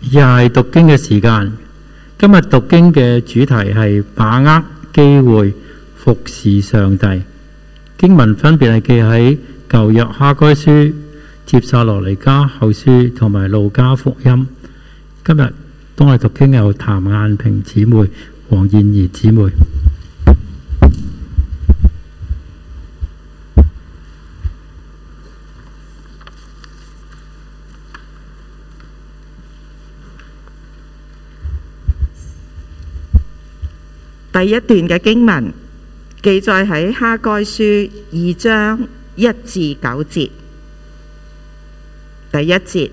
又係讀經嘅時間。今日讀經嘅主題係把握機會服侍上帝。經文分別係記喺舊約哈該書、帖撒羅尼迦後書同埋路加福音。今日當我哋讀經有譚雁平姊妹、黃燕儀姊妹。 第一段嘅經文記載喺哈該書2章1至9節。第一節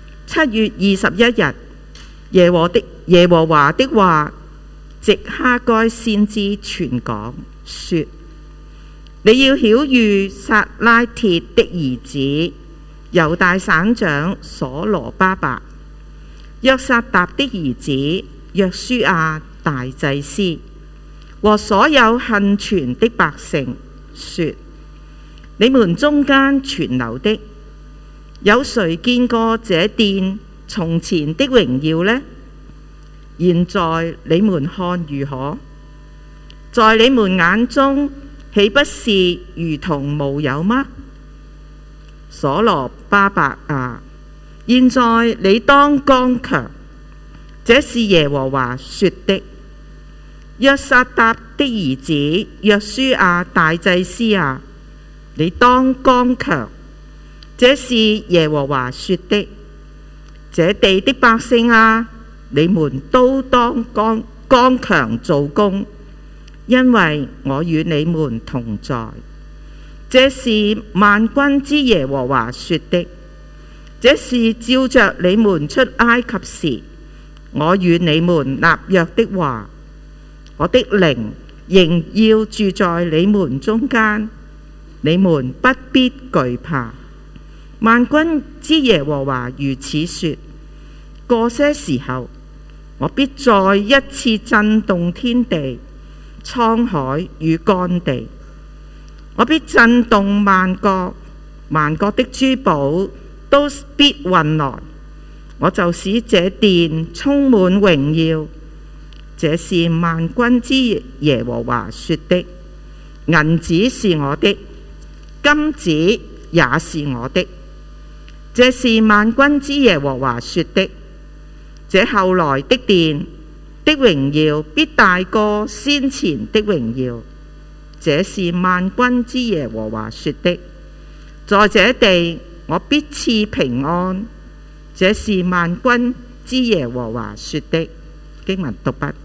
，7月21日，耶和華的話藉哈該先知傳講說：你要曉諭撒拉鐵的兒子猶大省長所羅巴伯、約撒答的兒子約書亞大祭司和所有幸存的百姓說：你們中間存留的，有誰見過這殿從前的榮耀呢？現在你們看如何？在你們眼中豈不是如同無有嗎？所羅巴伯啊，現在你當剛強，這是耶和華說的。約撒答的兒子約書亞大祭司啊，你當剛強，這是耶和華說的。這地的百姓啊，你們都當剛強做工，因為我與你們同在。這是萬軍之耶和華說的。這是照着你們出埃及時，我與你們立約的話。我的靈仍要住在你們中間，你們不必懼怕。萬軍之耶和華如此說：過些時候，我必再一次震動天地、滄海與乾地。我必震動萬國，萬國的珠寶都必運來，我就使這殿充滿榮耀。這是萬軍之耶和華說的。銀子是我的，金子也是我的。這是萬軍之耶和華說的。這後來的殿的榮耀必大過先前的榮耀。這是萬軍之耶和華說的。在這地我必賜平安。這是萬軍之耶和華說的。經文讀畢。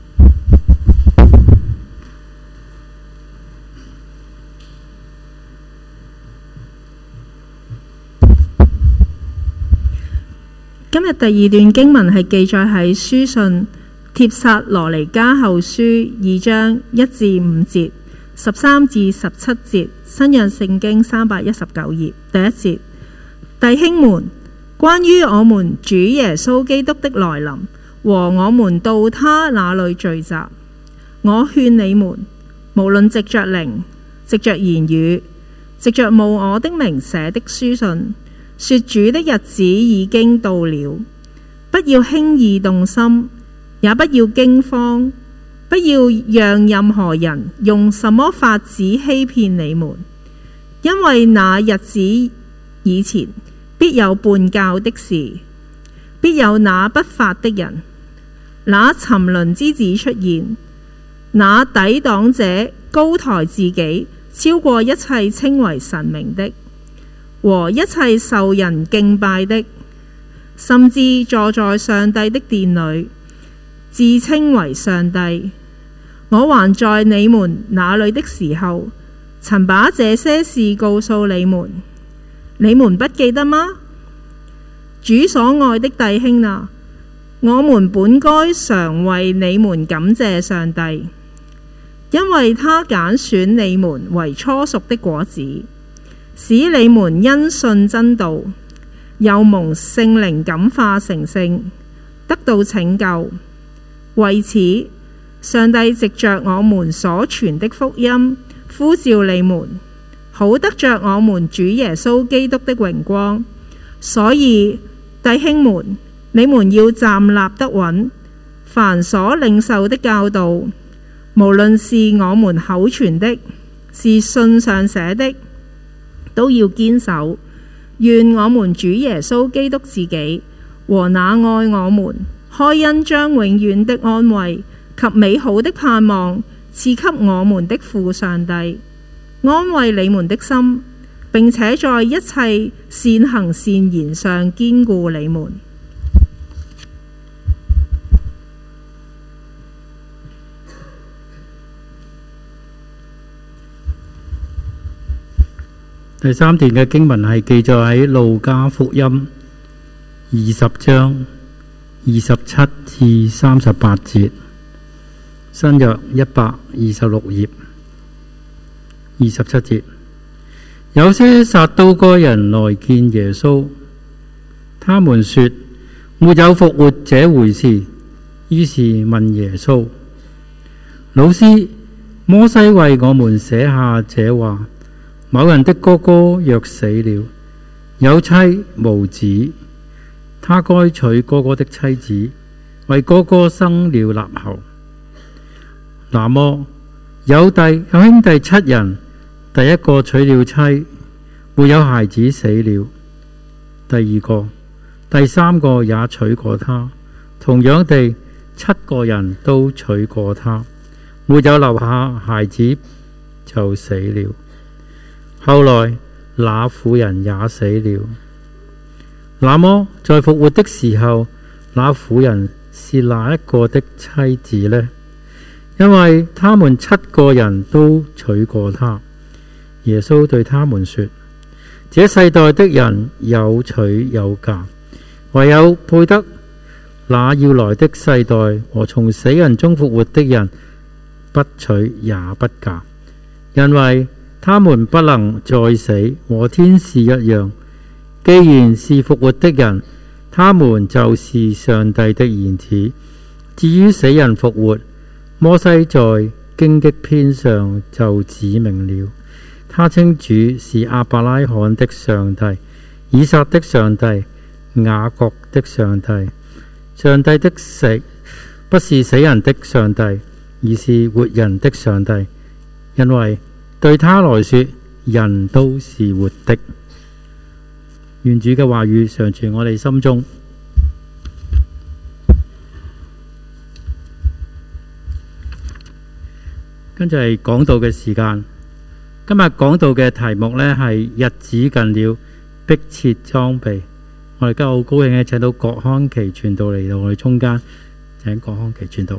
今日第二段經文係記載喺書信帖撒羅尼迦後書2章1至5節、13至17節，新約聖經319頁。第一節，弟兄們，關於我們主耶穌基督的來臨和我們到他那裏聚集，我勸你們，無論藉着靈、藉着言語、藉着冒我的名寫的書信，說主的日子已經到了，不要輕易動心，也不要驚慌，不要讓任何人用什麼法子欺騙你們，因為那日子以前必有叛教的事，必有那不法的人，那沉淪之子出現，那抵擋者高抬自己，超過一切稱為神明的和一切受人敬拜的，甚至坐在上帝的殿裏，自稱為上帝。我還在你們那裏的時候，曾把這些事告訴你們，你們不記得嗎？主所愛的弟兄啊，我們本該常為你們感謝上帝，因為他揀選你們為初熟的果子，使你們因信真道，又蒙聖靈感化成聖，得到拯救。為此，上帝藉着我們所傳的福音呼召你們，好得着我們主耶穌基督的榮光。所以弟兄們， 你們要站立得穩，凡所領受的教導，無論是我們口傳的，是信上寫的，都要堅守。願我們主耶穌基督自己和那愛我們、開恩將永遠的安慰及美好的盼望賜給我們的父上帝，安慰你們的心，並且在一切善行善言上堅固你們。 第三段嘅經文係記載喺路加福音20章27至38節，新約126頁27節。有些撒都該人來見耶穌，他們說沒有復活這回事，於是問耶穌：老師，摩西為我們寫下這話，某人的哥哥若死了，有妻無子，他該娶哥哥的妻子，為哥哥生了立後。那麼有兄弟7人，第一個娶了妻，沒有孩子，死了，第二個、第三個也娶過他，同樣地7個人都娶過他，沒有留下孩子，就死了。後來那婦人也死了。那麼在復活的時候，那婦人是哪一個的妻子呢？因為他們7個人都娶過她。耶穌對他們說：這世代的人有娶有嫁，唯有配得那要來的世代和從死人中復活的人，不娶也不嫁，因為他們不能再死，和天使一樣。既然是復活的人，他們就是上帝的兒子。至於死人復活，摩西在荊棘篇上就指明了，他稱主是亞伯拉罕的上帝、以撒的上帝、雅各的上帝。上帝的死不是死人的上帝，而是活人的上帝，因為對他來說，人都是活的。願主嘅話語常存我哋心中。跟住係講道嘅時間。今日講道嘅題目呢係日子近了，迫切裝備。我哋今日好高興嘅請到郭康琪傳道嚟到我哋中間，請郭康琪傳道。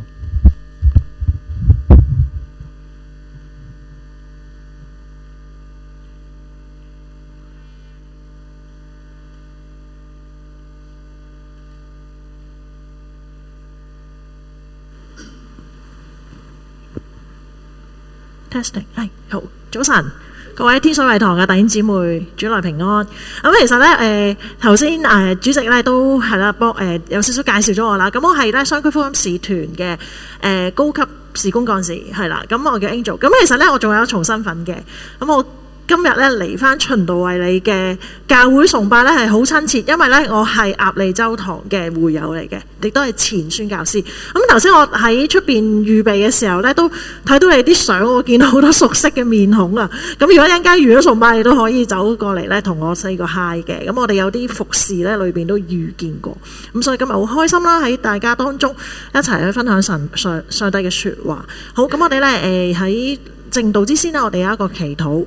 Testing 係好，早晨，各位天水圍堂嘅弟兄姊妹，主內平安。咁其實咧，頭先主席咧都係啦，幫有少少介紹咗我啦。咁我係咧雙區福音使團嘅高級事工幹事，係啦。咁我叫 Angel。咁其實咧，我仲有一重身份嘅。咁我今日咧嚟翻循道衛理嘅教會崇拜咧係好親切，因為咧我係鴨脷洲堂嘅會友嚟嘅，亦都係前宣教師。咁頭先我喺出邊預備嘅時候咧，都睇到你啲相，我見到好多熟悉嘅面孔啊！咁如果一陣間完咗崇拜，你都可以走過嚟咧同我 say 個 hi 嘅。咁我哋有啲服侍咧裏邊都遇見過，咁所以今日好開心啦，喺大家當中一齊去分享上帝嘅説話。好，咁我哋咧喺正道之先呢，我哋有一個祈禱。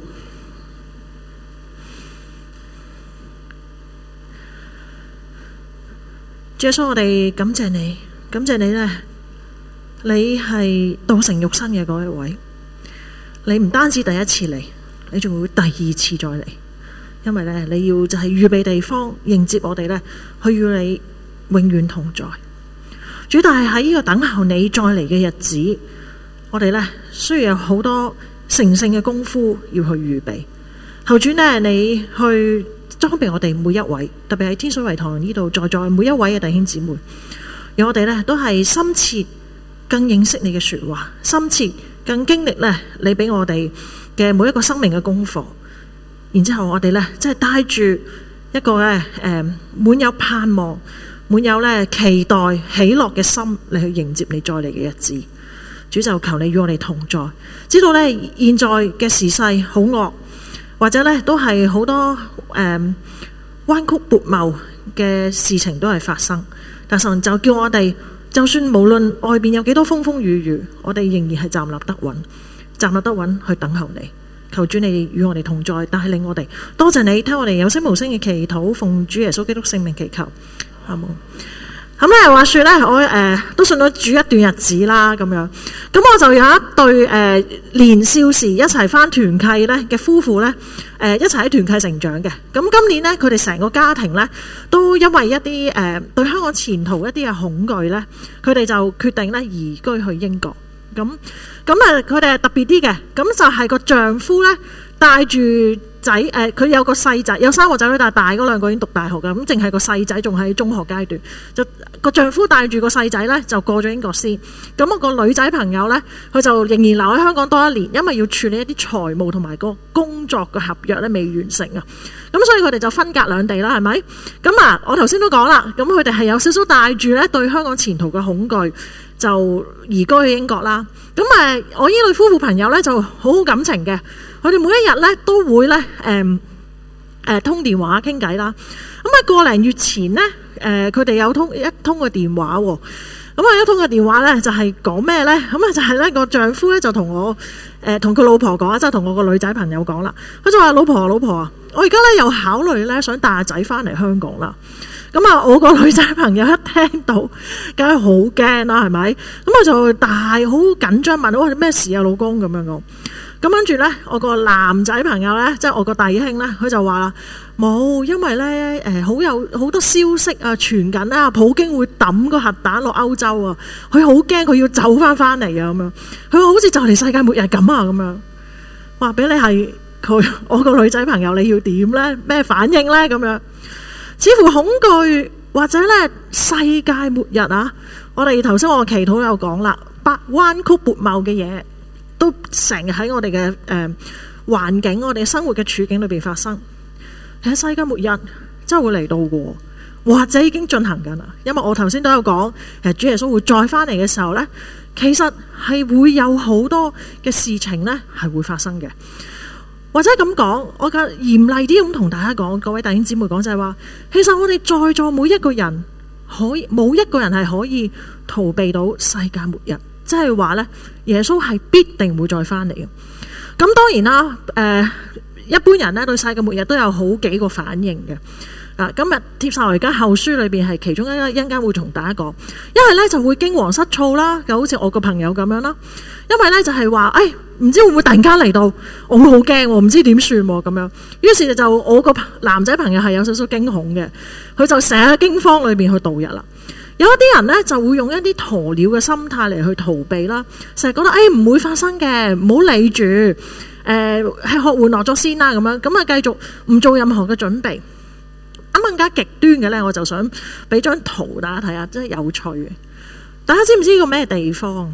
耶穌，我哋感謝你，感謝你呢，你係道成肉身嘅嗰一位。你唔單止第一次嚟，你仲會第二次再嚟，因為呢，你要就係預備地方迎接我哋呢，去與你永遠同在。主，但係喺呢個等候你再嚟嘅日子，我哋呢，需要有好多成聖嘅功夫要去預備。求主呢，你去裝備我哋每一位，特別喺天水圍堂呢度在每一位嘅弟兄姊妹，讓我哋呢都係深切更認識你嘅說話，深切更經歷呢你俾我哋嘅每一個生命嘅功課。然之後我哋呢即係帶住一個呢滿有盼望、 滿有咧期待喜樂嘅心嚟去迎接你再嚟嘅日子。主就求你與我哋同在，知道咧現在嘅時勢好惡，或者咧都係好多彎曲悖謬嘅事情都係發生，但神就叫我哋，就算無論外邊有幾多風風雨雨，我哋仍然係站立得穩，站立得穩去等候你。求主你與我哋同在，帶領我哋。多謝你聽我哋有聲無聲嘅祈禱，奉主耶穌基督聖名祈求，好冇？咁咧話說咧，我都信咗主一段日子啦，咁樣，咁我就有一對年少時一齊返團契咧嘅夫婦咧，一齊喺團契成長嘅。咁今年咧，佢哋成個家庭咧都因為一啲對香港前途一啲嘅恐懼咧，佢哋就決定咧移居去英國。咁佢哋係特別啲嘅，咁就係個丈夫咧帶住仔，佢有個細仔，有3個仔女，但係大嗰2個已經讀大學㗎，咁淨係個細仔仲喺中學階段。就個丈夫帶住個細仔咧就過咗英國先。咁我個女仔朋友咧，佢就仍然留喺香港多1年，因為要處理一啲財務同埋個工作嘅合約咧未完成啊。咁所以佢哋就分隔兩地啦，係咪？咁啊，我頭先都講啦，咁佢哋係有少少帶住咧對香港前途嘅恐懼，就移居去英國啦。咁我呢對夫婦朋友咧就好好感情嘅，佢哋每一日咧都會咧通電話傾偈啦。咁個零月前咧，佢哋有一通個電話喎。咁一通個電話咧就係講咩咧？咁就係咧個丈夫咧就同我同佢老婆講啊，即係同我個女仔朋友講啦。佢就話：老婆啊，我而家咧又考慮咧想帶阿仔翻嚟香港啦。咁我個女仔朋友一聽到，梗係好驚啦，係咪？咁我就好緊張問我咩事啊，老公咁樣講。咁跟住咧，我個男仔朋友咧，即係我個弟兄咧，佢就話啦：冇，因為咧好多消息啊傳緊啊，普京會抌個核彈落歐洲啊，佢好驚，佢要走翻嚟啊咁樣。佢話好似就嚟世界末日咁啊咁樣。話俾你係我個女仔朋友，你要點咧？咩反應咧？咁樣。似乎恐懼或者咧世界末日啊！我哋頭先我祈禱有講啦，彎曲悖謬嘅嘢都成日喺我哋嘅環境、我哋生活嘅處境裏邊發生。其實世界末日真係會嚟到嘅，或者已經進行緊啦。因為我頭先都有講，其實主耶穌會再翻嚟嘅時候咧，其實係會有好多嘅事情咧係會發生嘅。或者咁講，我嘅嚴厲啲咁同大家講，各位弟兄姊妹講就係話，其實我哋在座每一個人冇一個人係可以逃避到世界末日，即係話呢，耶穌係必定會再翻嚟嘅。咁當然啦，一般人呢對世界末日都有好幾個反應嘅。今日帖撒羅尼迦後書裏邊係其中一間會同大家講，因為呢就會驚惶失措啦，就好似我個朋友咁樣啦。因為呢就係話，唔知會唔會突然間嚟到，我會好驚，唔知點算咁樣。於是就我個男仔朋友係有少少驚恐嘅，佢就成日喺驚慌裏邊去度日啦。有一啲人呢就會用一啲鴕鳥嘅心態嚟去逃避啦，成日覺得唔會發生嘅，唔好理住，係學玩樂咗先啦咁樣，咁啊繼續唔做任何嘅準備。咁更加極端嘅呢，我就想俾張圖大家睇下，真係有趣嘅。大家知唔知呢個咩地方？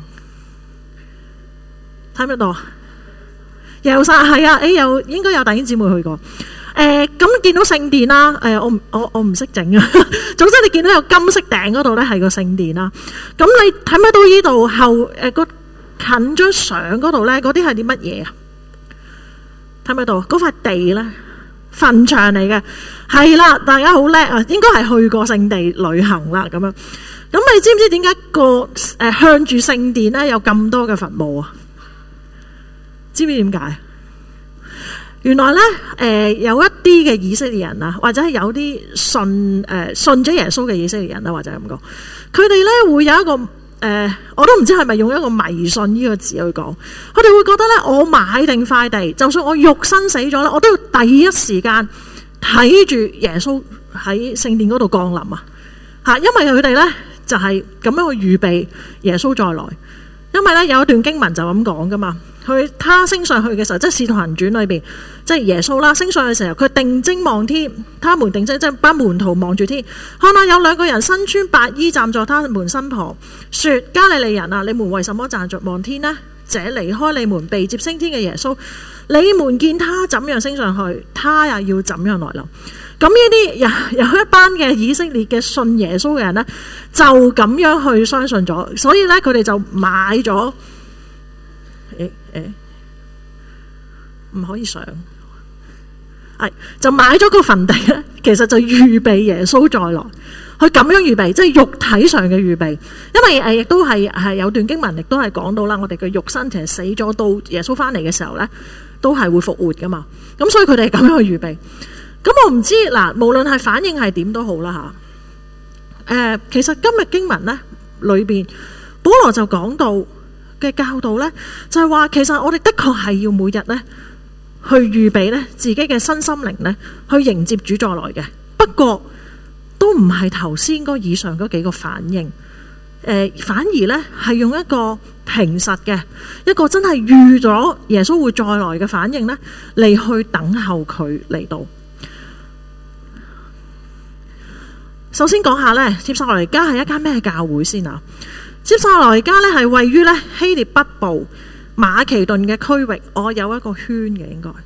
睇唔睇到？耶路撒冷係啊，應該有弟兄姊妹去過。咁見到聖殿啦，我唔識整啊。總之你見到有金色頂嗰度咧係個聖殿啦。咁你睇唔睇到呢度後個近張相嗰度咧？嗰啲係啲乜嘢啊？睇唔睇到？嗰塊地咧？墳場嚟嘅，係啦，大家好叻啊！應該係去過聖地旅行啦，咁樣。咁你知唔知點解向住聖殿咧有咁多嘅墳墓啊？知唔知點解？原來咧，有一啲嘅以色列人啊，或者係有啲信咗耶穌嘅以色列人啊，或者咁講，佢哋咧會有一個我都唔知係咪用一個迷信呢個字去講，佢哋會覺得咧，我買定塊地，就算我肉身死咗咧，我都要第一時間睇住耶穌喺聖殿嗰度降臨啊！嚇，因為佢哋咧就係咁樣去預備耶穌再來。因為咧有一段經文就咁講噶嘛，他升上去嘅時候，即係《使徒行傳》裏邊，即係耶穌啦，升上去嘅時候，佢定睛望天，他們定睛即係班門徒望住天，看到有2個人身穿白衣站在他們身旁，說：加利利人啊，你們為什麼站着望天呢？這離開你們被接升天嘅耶穌，你們見他怎樣升上去，他也要怎樣來臨。 咁呢啲有一班嘅以色列嘅信耶穌嘅人呢，就咁樣去相信咗，所以呢，佢哋就買咗，唔可以上，就買咗個墳地咧，其實就預備耶穌再來。佢咁樣預備，即係肉體上嘅預備，因為亦都係有段經文，亦都係講到啦。我哋嘅肉身其實死咗，到耶穌翻嚟嘅時候咧，都係會復活噶嘛。咁所以佢哋係咁樣去預備。咁我唔知嗱，無論係反應係點都好啦嚇。其實今日經文咧裏邊，保羅就講到嘅教導咧，就係話其實我哋的確係要每日咧去預備咧自己嘅身心靈咧，去迎接主再來嘅。不過都唔係頭先嗰以上嗰幾個反應，反而呢係用一個平實嘅一個真係預咗耶穌會再來嘅反應呢嚟去等候佢嚟到。首先講下呢，帖撒羅尼迦係一間咩教會先啊？帖撒羅尼迦呢係位於呢希臘北部馬其頓嘅區域，我有一個圈嘅應該，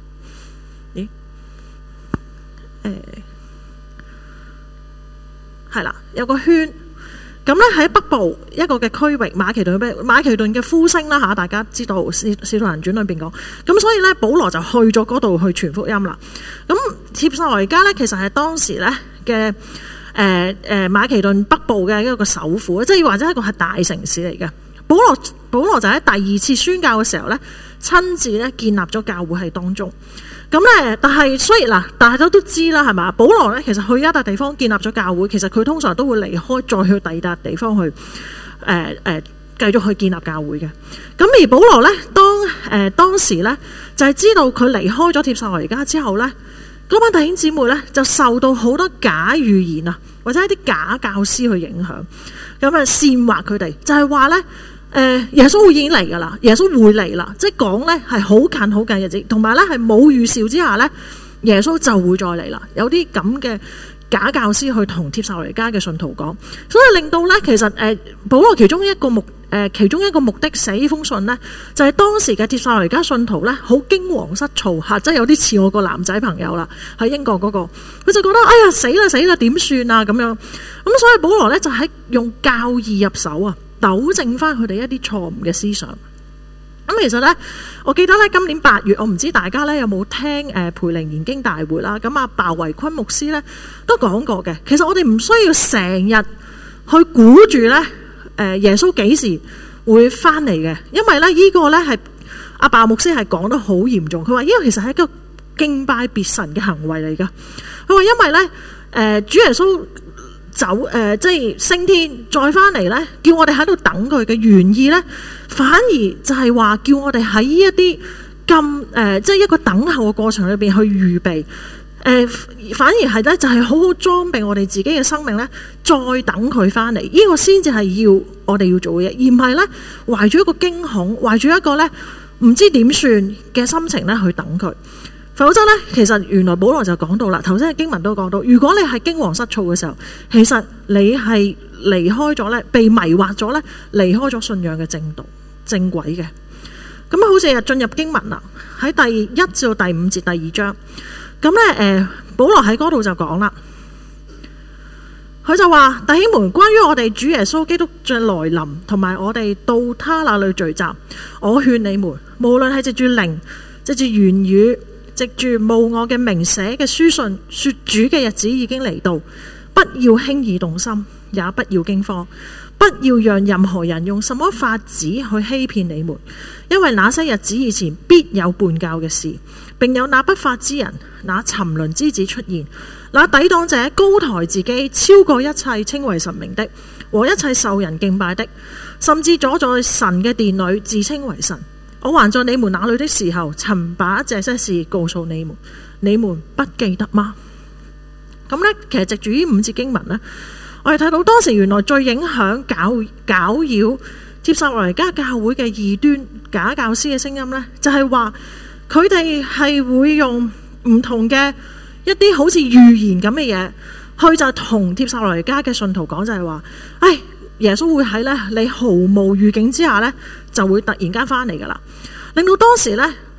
係啦，有個圈。咁咧喺北部一個嘅區域，馬其頓嘅呼聲啦嚇，大家知道《使徒行傳》裏邊講。咁所以咧，保羅就去咗嗰度去傳福音啦。咁帖撒羅尼迦咧，其實係當時咧嘅馬其頓北部嘅一個首府，即係或者一個係大城市嚟嘅。保羅就喺第二次宣教嘅時候咧，親自咧建立咗教會喺當中。咁咧，但係雖然嗱，大家都知啦，係嘛？保羅咧，其實去一笪地方建立咗教會，其實佢通常都會離開，再去第二笪地方去繼續去建立教會嘅。咁而保羅咧，當時咧就係知道佢離開咗帖撒羅尼迦之後咧，嗰班弟兄姊妹咧就受到好多假預言啊，或者一啲假教師去影響，咁啊煽惑佢哋，就係話咧。耶穌已經嚟噶啦，耶穌會嚟啦，即係講咧係好近好近日子，同埋咧係冇預兆之下咧，耶穌就會再嚟啦。有啲咁嘅假教師去同帖撒羅尼迦嘅信徒講，所以令到咧其實保羅其中一個目的寫呢封信呢，就係當時嘅帖撒羅尼迦信徒咧好驚惶失措嚇，即係有啲似我個男仔朋友啦，喺英國嗰個，佢就覺得哎呀死啦點算啊咁樣，咁所以保羅咧就喺用教義入手啊。糾正翻佢哋一啲錯誤嘅思想。咁其實呢，我記得呢，今年8月，我唔知大家呢有冇聽培靈研經大會啦。咁阿鮑維坤牧師呢都講過嘅。其實我哋唔需要成日去估住呢耶穌幾時會翻嚟嘅，因為呢呢個呢係阿鮑牧師係講得好嚴重。佢話因為其實係一個敬拜別神嘅行為嚟㗎。佢話因為呢主耶穌即係升天再翻嚟呢，叫我哋喺度等佢嘅原意呢，反而就係話叫我哋喺一啲咁即係一個等候嘅過程裏邊去預備，反而係呢，就係好好裝備我哋自己嘅生命呢，再等佢翻嚟，呢個先至係要我哋要做嘅嘢，而唔係呢，懷住一個驚恐，懷住一個呢唔知點算嘅心情呢去等佢。否則呢，其實原來保羅就講到啦，頭先嘅經文都講到，如果你係驚惶失措嘅時候，其實你係離開咗呢，被迷惑咗呢，離開咗信仰嘅正道正軌嘅。咁好似進入經文啦，喺第1至到第5節第2章，咁呢保羅喺嗰度就講啦，佢就話弟兄們，關於我哋主耶穌基督嘅來臨，同埋我哋到他那裡聚集，我勸你們，無論係藉住靈，藉住言語，藉住冒我嘅名寫嘅書信，說主嘅日子已經嚟到，不要輕易動心，也不要驚慌，不要讓任何人用什麼法子去欺騙你們，因為那些日子以前必有叛教嘅事，並有那不法之人，那沉淪之子出現，那抵擋者高抬自己，超過一切稱為神明的和一切受人敬拜的，甚至坐在神嘅殿裏自稱為神。我還在你們那裏的時候，曾把這些事告訴你們，你們不記得嗎？咁呢，其實藉住呢5節經文呢，我哋睇到當時原來最影響攪擾帖撒羅尼迦教會嘅異端假教師嘅聲音呢，就係話佢哋係會用唔同嘅一啲好似預言咁嘅嘢，去就同帖撒羅尼迦嘅信徒講，就係話，耶穌會喺你毫無預警之下呢，就會突然間翻嚟噶啦，令到當時呢，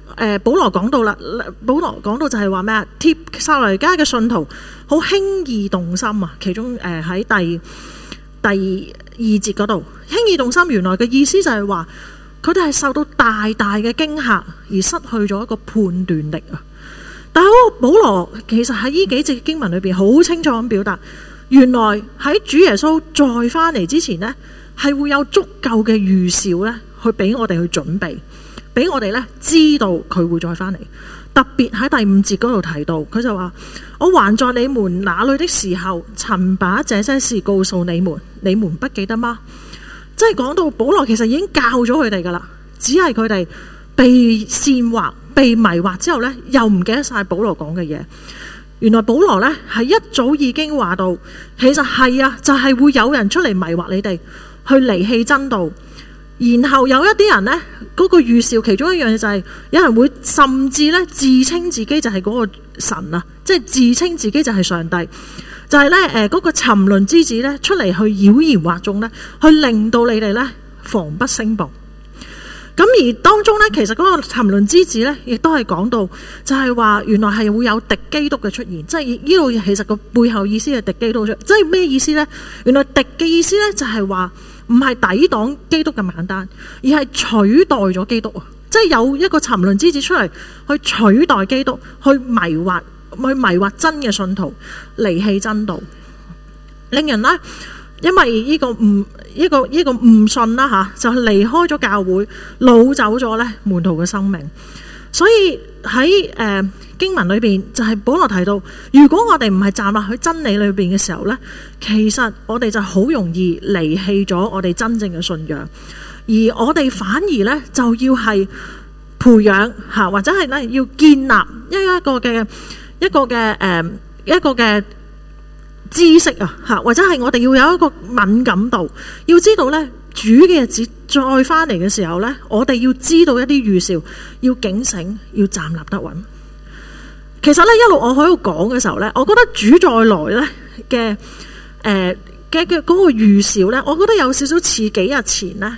保羅講到啦，保羅講到就係話咩啊？帖撒羅尼迦嘅信徒好輕易動心啊！其中喺第二節嗰度，輕易動心，原來嘅意思就係話佢哋係受到大大嘅驚嚇而失去咗一個判斷力啊！但係保羅其實喺呢幾節經文裏邊好清楚咁表達，原來喺主耶穌再翻嚟之前呢，係會有足夠嘅預兆呢，去俾我哋去準備，俾我哋呢知道佢會再翻嚟。特別喺第5節嗰度提到，佢就話：我還在你們那裏的時候，曾把這些事告訴你們，你們不記得嗎？即係講到保羅其實已經教咗佢哋噶啦，只係佢哋被煽惑、被迷惑之後呢，又唔記得晒保羅講嘅嘢。原來保羅呢係一早已經話到，其實係啊，就係會有人出嚟迷惑你哋，去離棄真道。然後有一啲人呢，嗰個預兆其中一樣嘢就係有人會甚至呢自稱自己就係嗰個神啊，即係自稱自己就係上帝，就係呢嗰個沉淪之子呢出嚟去妖言惑眾呢，去令到你哋呢防不勝防。咁而當中呢，其實嗰個沉淪之子呢，亦都係講到就係話原來係會有敵基督嘅出現，即係呢度其實個背後意思係敵基督出現，即係咩意思呢？原來敵嘅意思呢，就係話唔係抵擋基督咁簡單，而係取代咗基督啊！即係有一個沉淪之子出嚟去取代基督，去迷惑真嘅信徒，離棄真道，令人呢，因為呢個誤信啦吓，就離開咗教會，擄走咗咧門徒嘅生命。所以喺經文裏邊就係保羅提到，如果我哋唔係站立喺真理裏邊嘅時候呢，其實我哋就好容易離棄咗我哋真正嘅信仰，而我哋反而呢，就要係培養吓，或者係呢要建立一個嘅知識啊吓，或者係我哋要有一個敏感度，要知道呢，主嘅日子再翻嚟嘅時候呢，我哋要知道一啲預兆，要警醒，要站立得穩。其實呢，一路我喺度講嘅時候呢，我覺得主再來呢嘅嗰個預兆呢，我覺得有少少似幾日前呢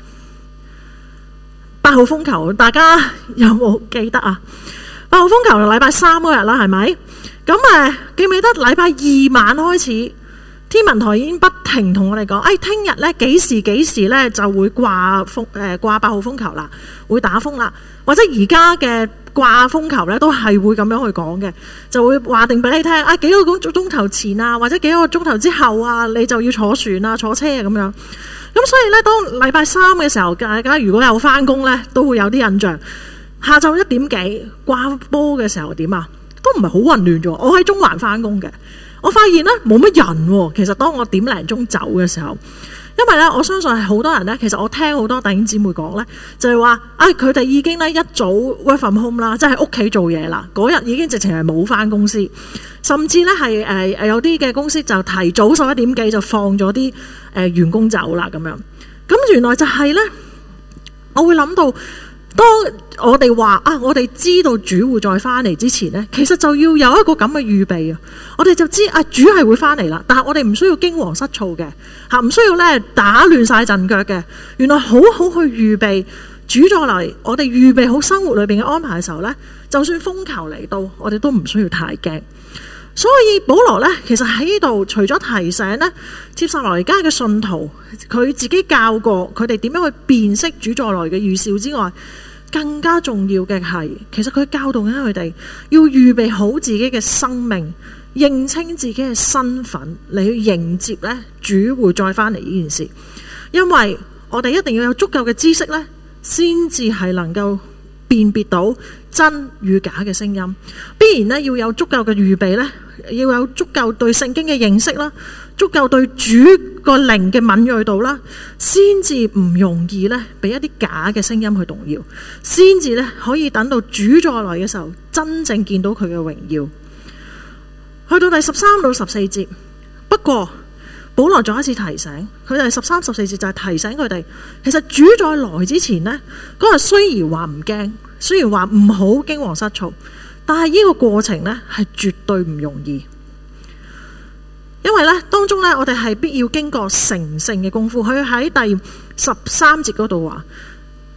8號風球，大家有冇記得啊？8號風球係禮拜3嗰日啦，係咪？咁記唔記得禮拜2晚開始，天文台已經不停同我哋講，聽日呢幾時呢就會掛8號風球啦，會打風啦，或者而家嘅掛風球呢都係會咁樣去講嘅，就會話定俾你聽，幾個鐘頭前啊，或者幾個鐘頭之後啊，你就要坐船啊、坐車啊咁樣。咁所以呢，當禮拜3嘅時候，大家如果有翻工呢，都會有啲印象。下晝1點幾掛波嘅時候點啊？都唔係好混亂咗。我喺中環翻工嘅，我發現呢冇乜人喎。其實當我點零鐘走嘅時候，因為呢，我相信係好多人呢。其實我聽好多弟兄姊妹講呢，就係話佢哋已經呢一早 work from home 啦，即係屋企做嘢啦。嗰日已經直情係冇翻公司，甚至呢係有啲嘅公司就提早11點幾就放咗啲員工走啦咁樣。咁原來就係呢，我會諗到。當我哋話我哋知道主會再翻嚟之前呢，其實就要有一個咁嘅預備啊！我哋就知主係會翻嚟啦，但係我哋唔需要驚惶失措嘅吓，唔需要咧打亂晒陣腳嘅。原來好好去預備主再嚟，我哋預備好生活裏邊嘅安排嘅時候呢，就算風球嚟到，我哋都唔需要太驚。所以保羅呢，其實喺呢度除咗提醒呢帖撒羅尼迦嘅信徒，佢自己教過佢哋點樣去辨識主再來嘅預兆之外，更加重要嘅係，其實佢教導緊佢哋要預備好自己嘅生命，認清自己嘅身份，嚟去迎接呢主會再翻嚟呢件事。因為我哋一定要有足夠嘅知識呢，先至係能夠辨別到真與假嘅聲音。必然呢要有足夠嘅預備呢，要有足夠對聖經嘅認識啦，足夠對主個靈嘅敏銳度啦，先至唔容易呢俾一啲假嘅聲音去動搖，先至呢可以等到主再來嘅時候，真正見到佢嘅榮耀。去到第13到14節，不過保羅再一次提醒佢哋，13、14節就係提醒佢哋，其實主再來之前呢，嗰日雖然話唔驚，雖然話唔好驚惶失措，但係呢個過程呢係絕對唔容易。因為呢當中呢，我哋係必要經過成聖嘅功夫。佢喺第13節嗰度話，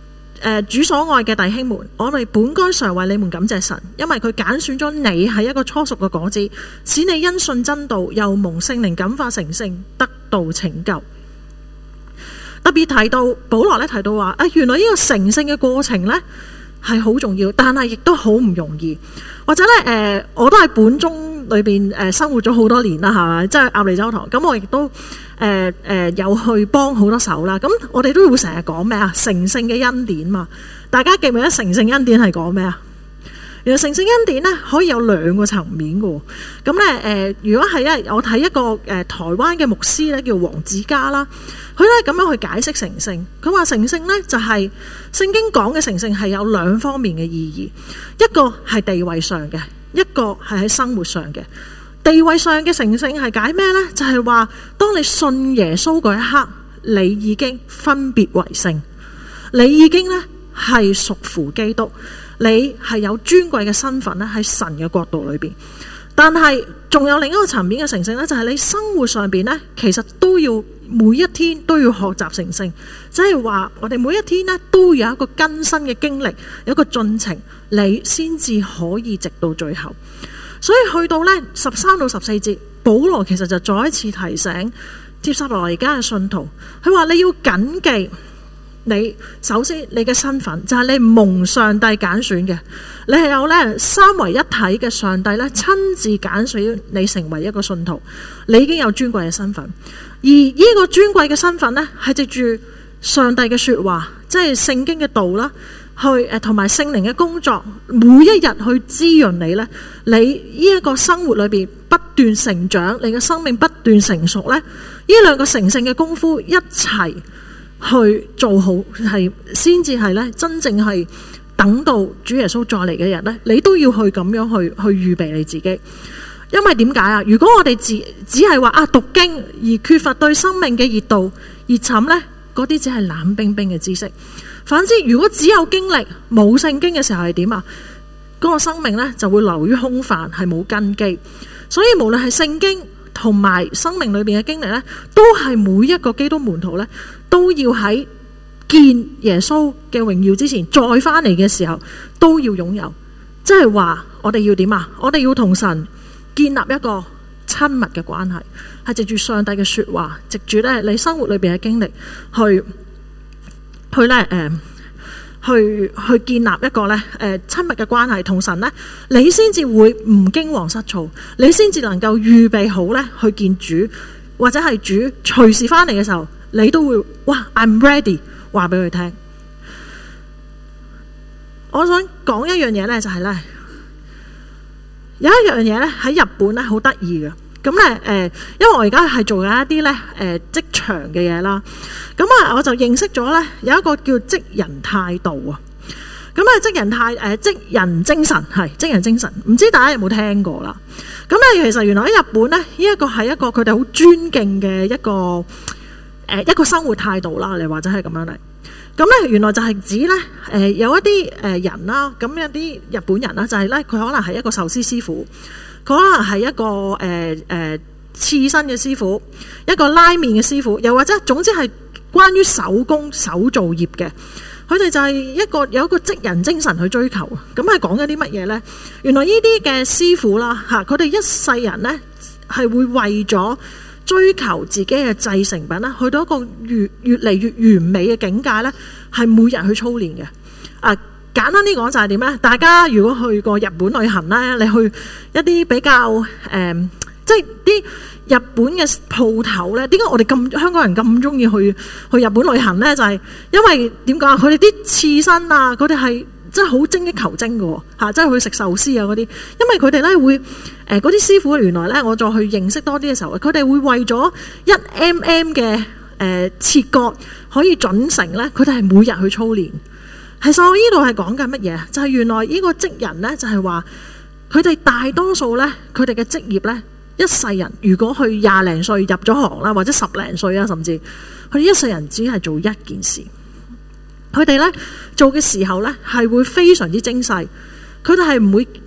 主所愛嘅弟兄們，我哋本該常為你們感謝神，因為佢揀選咗你係一個初熟嘅果子，使你因信真道，又蒙聖靈感化成聖，得到拯救。特別提到保羅咧提到話，原來呢個成聖嘅過程咧係好重要，但係亦都好唔容易。或者咧我都喺本宗裏邊生活咗好多年啦，係咪？即係鴨脷洲堂，咁我亦都有去幫好多手啦。咁我哋都會成日講咩啊？成聖嘅恩典嘛，大家記唔記得成聖恩典係講咩啊？原來成聖恩典咧可以有兩個層面嘅。咁咧如果係我睇一個台灣嘅牧師咧叫黃子嘉啦，佢咧咁樣去解釋成聖。佢話成聖咧就係聖經講嘅成聖係有兩方面嘅意義，一個係地位上嘅，一個係喺生活上嘅。地位上嘅成聖係解咩咧？就係話當你信耶穌嗰一刻，你已經分別為聖，你已經咧係屬乎基督。你係有尊貴嘅身份咧，喺神嘅國度裏邊。但係仲有另一個層面嘅成聖咧，就係你生活上邊咧，其實都要每一天都要學習成聖，即係話我哋每一天咧都有一個更新嘅經歷，有一個進程，你先至可以直到最後。所以去到咧13到14節，保羅其實就再一次提醒帖撒羅尼迦嘅信徒，佢話你要謹記。你首先你嘅身份就係你蒙上帝揀選嘅，你係有咧三位一體嘅上帝咧親自揀選你成為一個信徒，你已經有尊貴嘅身份。而呢個尊貴嘅身份咧係藉住上帝嘅說話，即係聖經嘅道啦，去同埋聖靈嘅工作，每一日去滋潤你咧，你呢一個生活裏邊不斷成長，你嘅生命不斷成熟咧，呢兩個成聖嘅功夫一齊去做好，係先至係咧真正係等到主耶穌再嚟嘅日咧，你都要去咁樣去預備你自己。因為點解啊？如果我哋只係話讀經而缺乏對生命嘅熱度熱忱咧，嗰啲只係冷冰冰嘅知識。反之，如果只有經歷冇聖經嘅時候係點啊？嗰個生命咧就會流於空泛，係冇根基。所以無論係聖經同埋生命裏邊嘅經歷咧，都係每一個基督門徒咧都要喺見耶穌嘅榮耀之前，再翻嚟嘅時候都要擁有。即係話我哋要點啊？我哋要同神建立一個親密嘅關係，係藉住上帝嘅說話，藉住咧你生活裏邊嘅經歷去建立一個咧親密嘅關係，同神咧你先至會唔驚惶失措，你先至能夠預備好咧去見主，或者係主隨時翻嚟嘅時候，你都會哇 I'm ready 話俾佢聽。我想講一樣嘢咧，就係咧有一樣嘢咧喺日本咧好得意嘅。咁咧因為我而家係做緊一啲咧職場嘅嘢啦，咁我就認識咗咧有一個叫職人態度啊。咁職人精神係職人精神，唔知大家有冇聽過啦？咁咧其實原來喺日本咧，呢一個係一個佢哋好尊敬嘅一個生活態度啦，你或者係咁樣嚟。咁咧原來就係指咧有一啲人啦，咁有啲日本人啦，就係咧佢可能係一個壽司師傅。佢可能係一個刺身嘅師傅，一個拉麵嘅師傅，又或者總之係關於手工手造業嘅，佢哋就係有一個職人精神去追求。咁係講緊啲乜嘢呢？原來呢啲嘅師傅啦嚇，佢哋一世人呢係會為咗追求自己嘅製成品啦，去到一個越嚟越完美嘅境界呢，係每日去操練嘅。簡單啲講就係點咧？大家如果去過日本旅行咧，你去一啲比較即係啲日本嘅鋪頭咧，點解我哋香港人咁中意去日本旅行咧？就係因為點講啊？佢哋啲刺身啊，佢哋係真係好精益求精嘅喎，即係去食壽司啊嗰啲。因為佢哋咧會嗰啲師傅原來咧，我再去認識多啲嘅時候，佢哋會為咗1mm 嘅切割可以準成咧，佢哋係每日去操練。其實我呢度係講緊乜嘢？就係原來呢個職人呢，就係話佢哋大多數呢，佢哋嘅職業呢，一世人如果去20零歲入咗行啦，或者10零歲啊，甚至佢哋一世人只係做一件事。佢哋呢做嘅時候呢，係會非常之精細，佢哋係唔會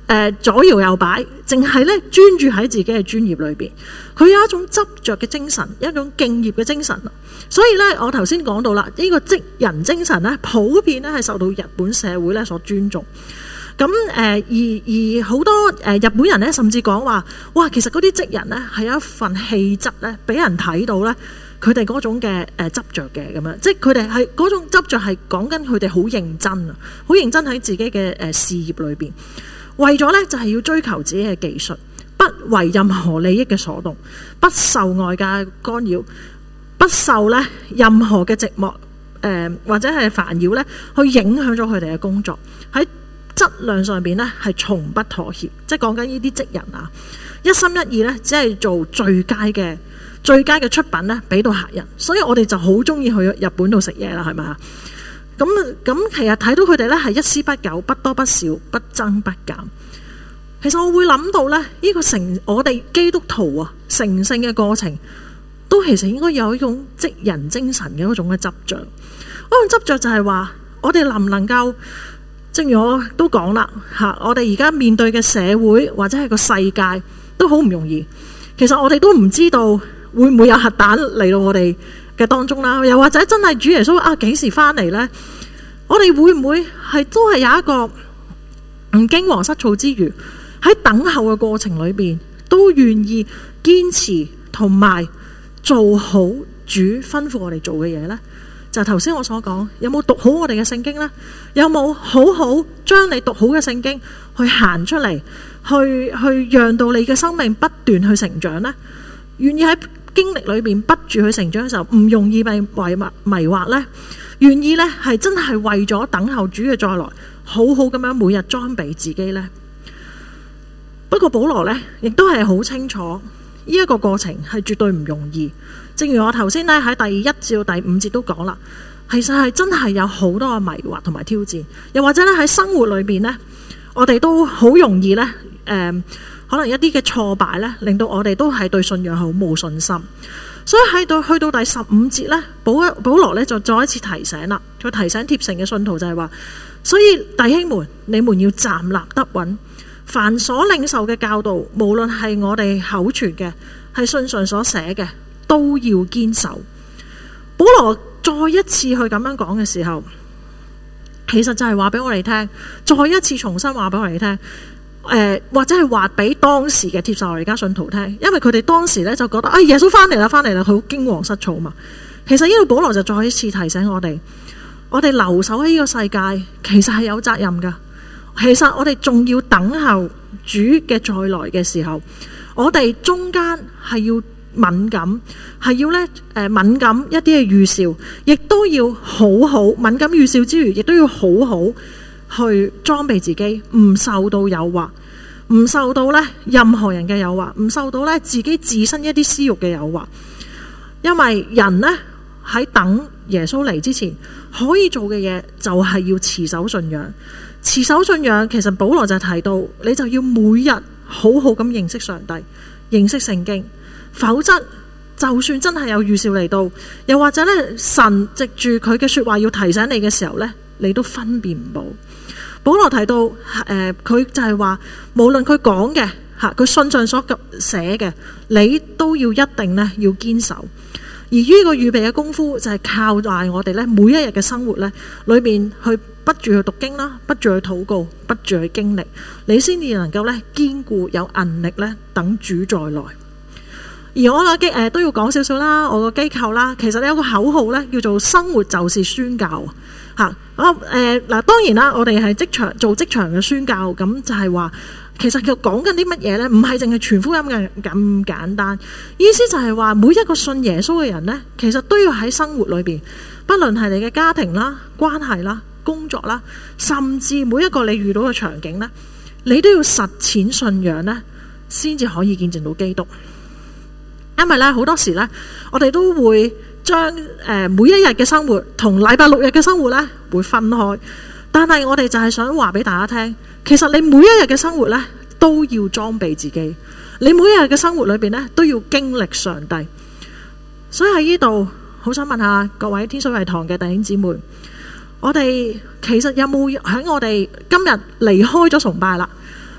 左搖右擺，淨係咧專注喺自己嘅專業裏邊。佢有一種執着嘅精神，一種敬業嘅精神。所以咧，我頭先講到啦，呢個職人精神咧，普遍咧係受到日本社會咧所尊重。咁而好多日本人咧，甚至講話，哇，其實嗰啲職人咧係有一份氣質咧，俾人睇到咧，佢哋嗰種嘅執着嘅咁樣，即係佢哋係嗰種執着係講緊佢哋好認真啊，好認真喺自己嘅事業裏邊，為咗咧就係要追求自己嘅技術，不為任何利益嘅所動，不受外界干擾，不受咧任何嘅寂寞或者係煩擾咧，去影響咗佢哋嘅工作。喺質量上邊咧係從不妥協，即係講緊呢啲職人啊，一心一意咧，只係做最佳嘅出品咧，俾到客人。所以我哋就好中意去日本度食嘢啦，係咪啊？咁其實睇到佢哋咧係一絲不苟，不多不少，不增不減。其實我會諗到咧，呢個我哋基督徒啊，成聖嘅過程，都其實應該有一種職人精神嘅嗰種嘅執着。嗰種執着就係話，我哋能唔能夠？正如我都講啦，我哋而家面對嘅社會或者係個世界都好唔容易。其實我哋都唔知道會唔會有核彈嚟到我哋嘅當中啦，又或者真係主耶穌幾時翻嚟呢？我哋會唔會都係有一個唔驚惶失措之餘，喺等候嘅過程裏邊都願意堅持同埋做好主吩咐我哋做嘅嘢呢？就係頭先我所講，有冇讀好我哋嘅聖經呢？有冇好好將你讀好嘅聖經去行出嚟，去讓到你嘅生命不斷去成長呢？願意喺經歷裏邊不住去成長嘅時候，唔容易被迷惑呢？願意呢係真係為咗等候主嘅再來，好好咁樣每日裝備自己呢？不過保羅呢亦都係好清楚，呢一個過程係絕對唔容易。正如我頭先咧喺第1至到第5節都講啦，其實係真係有好多嘅迷惑同埋挑戰，又或者咧喺生活裏邊呢，我哋都好容易呢，可能一啲嘅挫敗呢，令到我哋都係對信仰好冇信心。所以去到第15節呢，保羅呢就再一次提醒啦，佢提醒帖城嘅信徒就係話，所以弟兄們，你們要站立得穩，凡所領受嘅教導，無論係我哋口傳嘅，係信上所寫嘅，都要堅守。保羅再一次去咁樣講嘅時候，其實就係話俾我哋聽，再一次重新話俾我哋聽，或者係話俾當時嘅帖撒羅尼迦信徒聽，因為佢哋當時咧就覺得耶穌翻嚟啦，佢好驚惶失措嘛。其實呢度保羅就再一次提醒我哋留守喺呢個世界，其實係有責任噶。其實我哋仲要等候主嘅再來嘅時候，我哋中間係要敏感，係要敏感一啲嘅預兆，亦都要好好敏感預兆之餘，亦都要好好去裝備自己，唔受到誘惑，唔受到任何人嘅誘惑，唔受到自己自身一啲私欲嘅誘惑。因為人喺等耶穌嚟之前，可以做嘅嘢就係要持守信仰。持守信仰，其實保羅就提到，你就要每日好好咁認識上帝，認識聖經。否則就算真係有預兆嚟到，又或者神藉住佢嘅說話要提醒你嘅時候你都分辨唔到。保羅提到佢就係話，無論佢講嘅佢信上所寫嘅，你都要一定要堅守。而呢個預備嘅功夫就係靠在我哋每一日嘅生活裏面去不住去讀經啦，不住去禱告，不住去經歷，你先至能夠堅固有韌力等主再來。而我嘅都要講少少啦，我個機構啦，其實有個口號叫做生活就是宣教嚇。嗱，當然啦，我哋係做職場嘅宣教，咁就係話其實佢講緊啲乜嘢呢？唔係淨係傳福音嘅咁簡單。意思就係話每一個信耶穌嘅人呢，其實都要喺生活裏邊，不論係你嘅家庭啦、關係啦、工作啦，甚至每一個你遇到嘅場景呢，你都要實踐信仰呢，先至可以見證到基督。因為好多時我哋都會將每一日嘅生活同禮拜6日嘅生活會分開，但係我哋就係想話俾大家聽，其實你每一日嘅生活都要裝備自己，你每一日嘅生活裏邊都要經歷上帝。所以喺呢度好想問下各位天水圍堂嘅弟兄姊妹，我哋其實有冇喺我哋今日離開咗崇拜啦，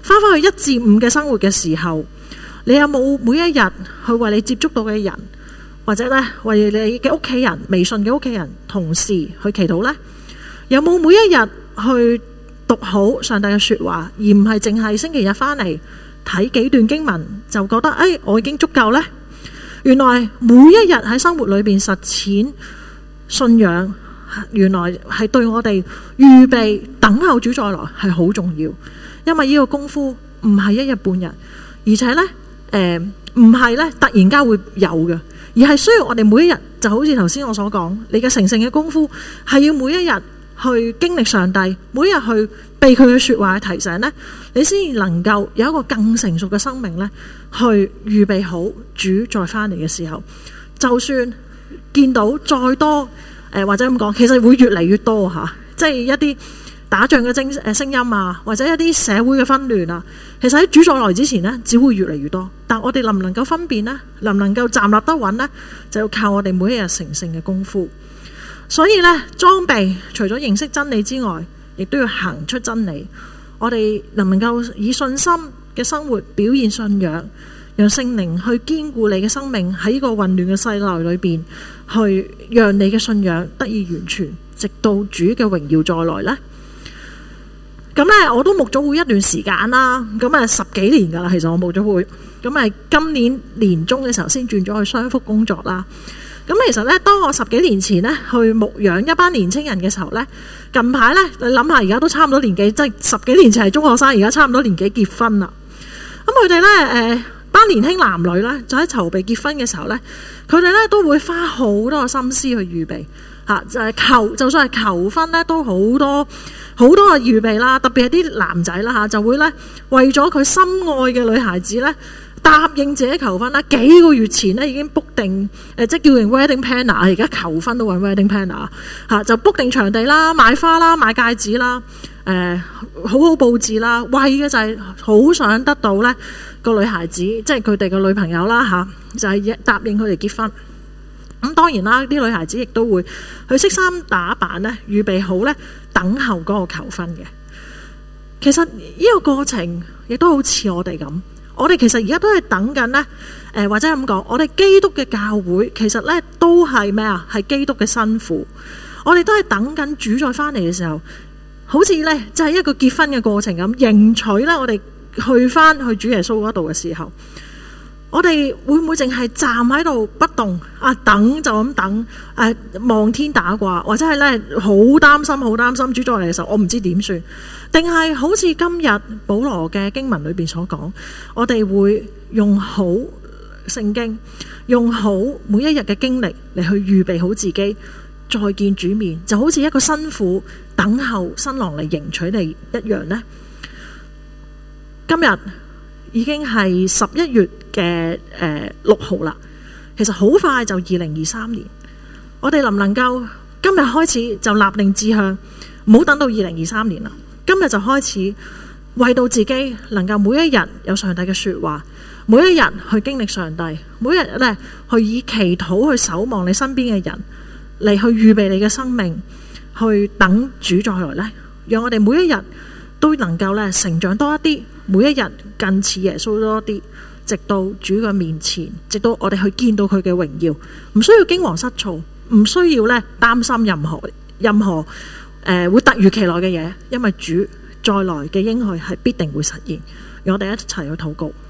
返去1至5嘅生活嘅時候，你有冇每一日去為你接觸到嘅人，或者咧為你嘅屋企人、微信嘅屋企人、同事去祈禱呢？有冇每一日去讀好上帝嘅說話，而唔係淨係星期日返嚟睇幾段經文就覺得我已經足夠呢？原來每一日喺生活裏邊實踐信仰，原來係對我哋預備等候主再來係好重要。因為呢個功夫唔係一日半日，而且呢唔係呢突然間會有嘅，而係需要我哋每一日，就好似頭先我所講，你嘅成聖嘅功夫係要每一日去經歷上帝，每一日去被佢嘅說話提醒呢，你先能夠有一個更成熟嘅生命呢，去預備好主再返嚟嘅時候，就算見到再多或者咁講，其實會越嚟越多吓，即係一啲打仗嘅聲音啊，或者一啲社會嘅紛亂啊，其實喺主再來之前呢，只會越嚟越多。但我哋能唔能夠分辨呢？能唔能夠站立得穩呢？就要靠我哋每一日成聖嘅功夫。所以呢，裝備除咗認識真理之外，亦都要行出真理。我哋能唔能夠以信心嘅生活表現信仰，讓聖靈去堅固你嘅生命喺呢個混亂嘅世代裏邊，去讓你嘅信仰得以完全，直到主嘅榮耀再來呢？咁咧，我都牧咗會一段時間啦，咁10幾年噶啦，其實我牧咗會，咁今年年中嘅時候先轉咗去雙福工作啦。咁其實咧，當我10幾年前咧去牧養一班年青人嘅時候咧，近排咧你諗下，而家都差唔多年紀，即係10幾年前係中學生，而家差唔多年紀結婚啦。咁佢哋咧班年輕男女咧，就喺籌備結婚嘅時候咧，佢哋咧都會花好多心思去預備嚇，就算係求婚咧，都好多嘅預備啦。特別係啲男仔啦嚇，就會咧為咗佢心愛嘅女孩子咧，答應自己求婚啦，幾個月前咧已經 book 定即係叫人 wedding planner， 而家求婚都揾 wedding planner 嚇，就 book 定場地啦、買花啦、買戒指啦、好好佈置啦，為嘅就係好想得到咧個女孩子，即係佢哋個女朋友啦嚇，就係答應佢哋結婚。咁當然啦，啲女孩子亦都會去識衫打扮咧，預備好咧等候嗰個求婚嘅。其實呢個過程亦都好似我哋咁。我哋其實而家都係等緊呢，或者咁講，我哋基督嘅教會其實呢都係咩啊？係基督嘅新婦。我哋都係等緊主再返嚟嘅時候，好似呢就係一個結婚嘅過程咁，迎娶呢我哋去返去主耶穌嗰度嘅時候，我哋會唔會淨係站喺度不動啊？等就咁等，望天打卦，或者係呢好擔心主再嚟嘅時候，我唔知點算。定係好似今日保羅嘅經文裏邊所講，我哋會用好聖經，用好每一日嘅經歷嚟去預備好自己，再見主面，就好似一個新婦等候新郎嚟迎娶你一樣呢。今日已經係11月嘅6號啦，其實好快就2023年。我哋能唔能夠今日開始就立定志向，唔好等到2023年啦。今日就開始為到自己能夠每一日有上帝嘅說話，每一日去經歷上帝，每一日咧去以祈禱去守望你身邊嘅人，嚟去預備你嘅生命，去等主再來咧，讓我哋每一日都能夠咧成長多一啲，每一日更似耶穌多一啲，直到主嘅面前，直到我哋去見到佢嘅榮耀，唔需要驚惶失措，唔需要咧擔心任何會突如其來嘅嘢，因為主再來嘅應許係必定會實現。讓我哋一齊去禱告。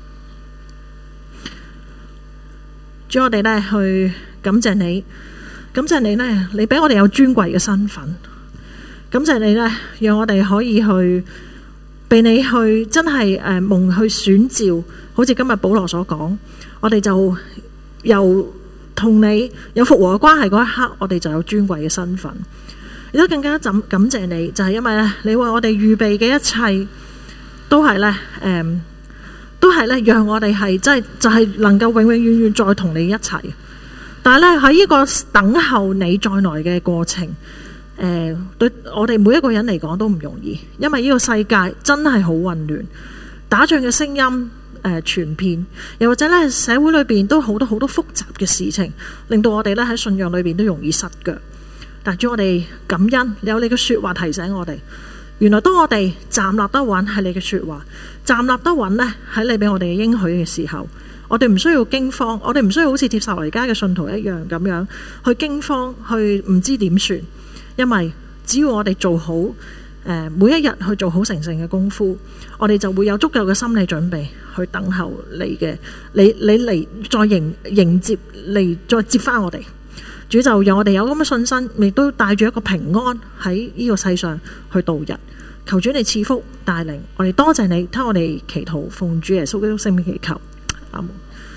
主，我哋咧去感謝你，感謝你咧，你俾我哋有尊貴嘅身份，感謝你咧，讓我哋可以去被你去真係蒙去選召，好似今日保羅所講，我哋就由同你有復和嘅關係嗰一刻，我哋就有尊貴嘅身份。亦都更加感謝你，就係因為咧，你為我哋預備嘅一切都係咧，讓我哋係真係就係能夠永永遠遠再同你一齊。但係咧喺呢個等候你再來嘅過程，對我哋每一個人嚟講都唔容易，因為呢個世界真係好混亂，打仗嘅聲音傳遍，又或者咧社會裏邊都好多複雜嘅事情，令到我哋咧喺信仰裏邊都容易失腳。但主，我哋感恩，你有你嘅說話提醒我哋， 原來當我哋站立得穩喺你嘅說話，站立得穩呢喺你俾我哋嘅應許嘅時候，我哋唔需要驚慌，我哋唔需要好似帖撒羅尼迦嘅信徒一樣咁樣去驚慌，去唔知點算。因為只要我哋做好每一日去做好成聖嘅功夫，我哋就會有足夠嘅心理準備去等候你嘅你嚟再迎接嚟再接翻我哋。主就讓我哋有咁嘅信心，亦都帶住一個平安喺呢個世上去度日。求主你賜福帶領我哋，多謝你聽我哋祈禱，奉主耶穌基督聖名祈求，阿門。